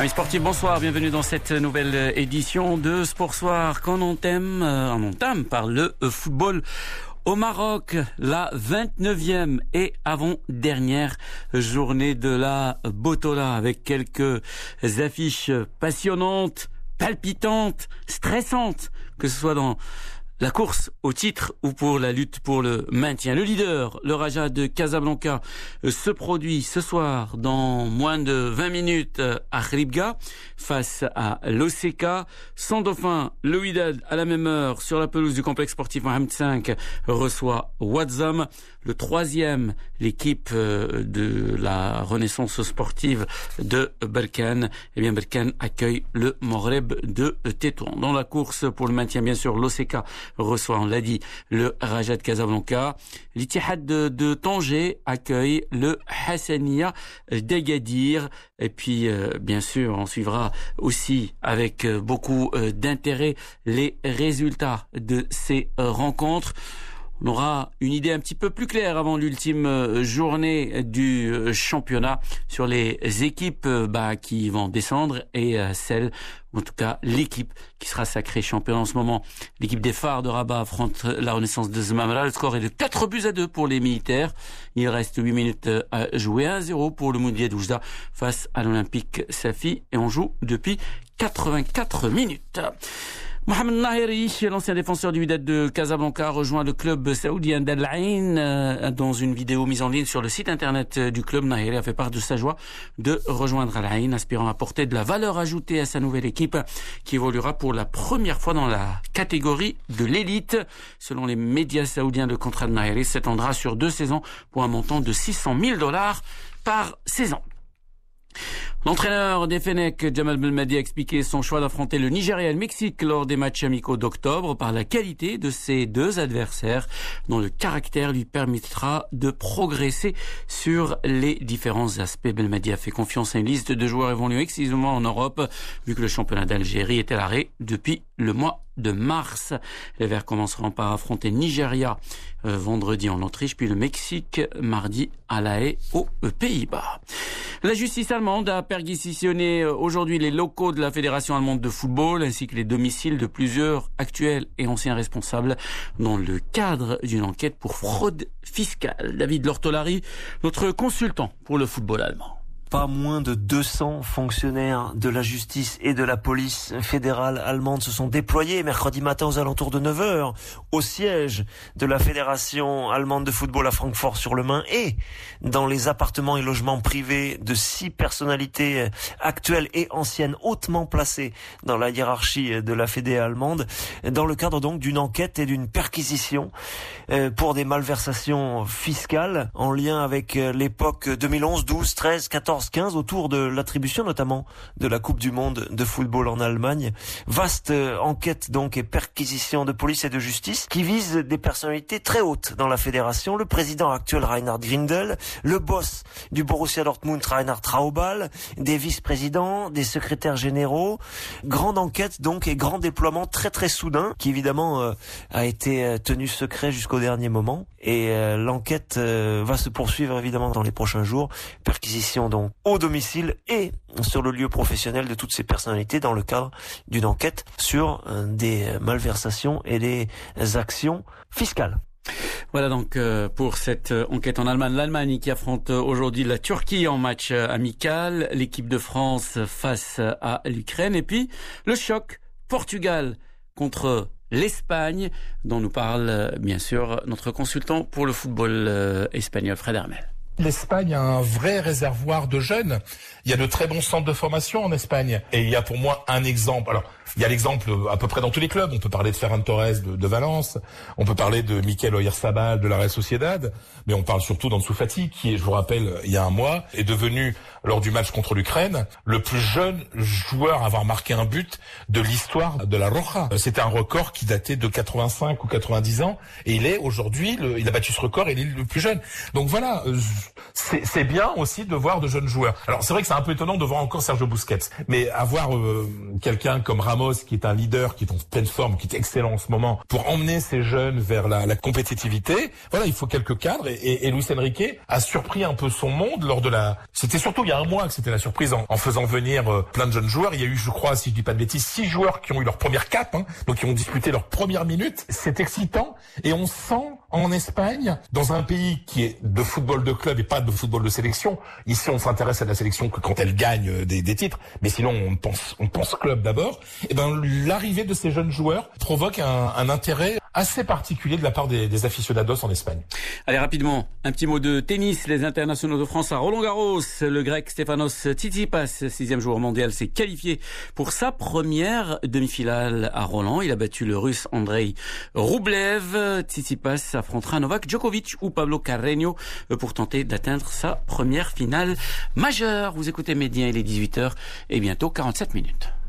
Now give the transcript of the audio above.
Amis sportifs, bonsoir, bienvenue dans cette nouvelle édition de Sport Soir qu'on entame par le football au Maroc, la 29e et avant-dernière journée de la Botola avec quelques affiches passionnantes, palpitantes, stressantes, que ce soit dans la course au titre ou pour la lutte pour le maintien. Le leader, le Raja de Casablanca, se produit ce soir dans moins de 20 minutes à Khribga face à l'OCK. Sans dauphin, le Wydad à la même heure sur la pelouse du complexe sportif Mohamed V reçoit Ouazzam. Le troisième, l'équipe de la renaissance sportive de Berkane. Eh bien, Berkane accueille le Maghreb de Tétouan. Dans la course pour le maintien, bien sûr, l'OCK reçoit, on l'a dit, le Raja de Casablanca. L'Ittihad de Tanger accueille le Hassania d'Agadir. Et puis, bien sûr, on suivra aussi avec beaucoup d'intérêt les résultats de ces rencontres. On aura une idée un petit peu plus claire avant l'ultime journée du championnat sur les équipes qui vont descendre et celle, en tout cas l'équipe qui sera sacrée championne en ce moment. L'équipe des Phares de Rabat affronte la Renaissance de Zmamra. Le score est de 4-2 pour les militaires. Il reste 8 minutes à jouer, 1-0 pour le Moudia d'Oujda face à l'Olympique Safi et on joue depuis 84 minutes. Mohamed Nahiri, l'ancien défenseur du Wydad de Casablanca, rejoint le club saoudien d'Al Ain. Dans une vidéo mise en ligne sur le site internet du club, Nahiri a fait part de sa joie de rejoindre Al Ain, aspirant à apporter de la valeur ajoutée à sa nouvelle équipe qui évoluera pour la première fois dans la catégorie de l'élite. Selon les médias saoudiens, le contrat de Nahiri s'étendra sur 2 saisons pour un montant de $600,000 par saison. L'entraîneur des Fennecs, Jamal Belmadi, a expliqué son choix d'affronter le Nigeria et le Mexique lors des matchs amicaux d'octobre par la qualité de ces deux adversaires dont le caractère lui permettra de progresser sur les différents aspects. Belmadi a fait confiance à une liste de joueurs évoluant exclusivement en Europe vu que le championnat d'Algérie est à l'arrêt depuis le mois de mars. Les Verts commenceront par affronter Nigeria vendredi en Autriche, puis le Mexique mardi à La Haye aux Pays-Bas. La justice allemande a perquisitionné aujourd'hui les locaux de la Fédération allemande de football ainsi que les domiciles de plusieurs actuels et anciens responsables dans le cadre d'une enquête pour fraude fiscale. David Lortolari, notre consultant pour le football allemand. Pas moins de 200 fonctionnaires de la justice et de la police fédérale allemande se sont déployés mercredi matin aux alentours de 9h au siège de la Fédération allemande de football à Francfort-sur-le-Main et dans les appartements et logements privés de 6 personnalités actuelles et anciennes hautement placées dans la hiérarchie de la Fédé allemande dans le cadre donc d'une enquête et d'une perquisition pour des malversations fiscales en lien avec l'époque 2011, 12, 13, 14, 15 autour de l'attribution notamment de la Coupe du Monde de football en Allemagne. Vaste enquête donc et perquisition de police et de justice qui vise des personnalités très hautes dans la fédération. Le président actuel Reinhard Grindel, le boss du Borussia Dortmund Reinhard Traubal, des vice-présidents, des secrétaires généraux. Grande enquête donc et grand déploiement très très soudain qui évidemment a été tenu secret jusqu'au dernier moment. Et l'enquête va se poursuivre évidemment dans les prochains jours. Perquisition donc au domicile et sur le lieu professionnel de toutes ces personnalités dans le cadre d'une enquête sur des malversations et des actions fiscales. Voilà donc pour cette enquête en Allemagne. L'Allemagne qui affronte aujourd'hui la Turquie en match amical, l'équipe de France face à l'Ukraine et puis le choc Portugal contre l'Espagne dont nous parle bien sûr notre consultant pour le football espagnol Fred Hermel. L'Espagne a un vrai réservoir de jeunes. Il y a de très bons centres de formation en Espagne. Et il y a pour moi un exemple. Alors, il y a l'exemple à peu près dans tous les clubs. On peut parler de Ferran Torres de Valence. On peut parler de Mikel Oyarzabal de la Real Sociedad. Mais on parle surtout d'Ansu Fati, qui, je vous rappelle, il y a un mois, est devenu, lors du match contre l'Ukraine, le plus jeune joueur à avoir marqué un but de l'histoire de la Roja. C'était un record qui datait de 85 ou 90 ans. Et il est aujourd'hui, il a battu ce record et il est le plus jeune. Donc voilà, c'est bien aussi de voir de jeunes joueurs. Alors c'est vrai que c'est un peu étonnant de voir encore Sergio Busquets. Mais avoir quelqu'un comme Ramos Ramos, qui est un leader, qui est en pleine forme, qui est excellent en ce moment, pour emmener ces jeunes vers la compétitivité. Voilà, il faut quelques cadres et Luis Enrique a surpris un peu son monde lors de c'était surtout il y a un mois que c'était la surprise en faisant venir plein de jeunes joueurs. Il y a eu, je crois, si je dis pas de bêtises, 6 joueurs qui ont eu leur première cape, donc qui ont disputé leur première minute. C'est excitant et on sent en Espagne, dans un pays qui est de football de club et pas de football de sélection. Ici, on s'intéresse à la sélection que quand elle gagne des titres, mais sinon on pense club d'abord. Et l'arrivée de ces jeunes joueurs provoque un intérêt assez particulier de la part des aficionados en Espagne. Allez, rapidement, un petit mot de tennis. Les internationaux de France à Roland-Garros. Le grec Stefanos Tsitsipas, 6e joueur mondial, s'est qualifié pour sa première demi-finale à Roland. Il a battu le russe Andrei Rublev. Tsitsipas affrontera Novak Djokovic ou Pablo Carreño pour tenter d'atteindre sa première finale majeure. Vous écoutez Média, il est 18h et bientôt 47 minutes.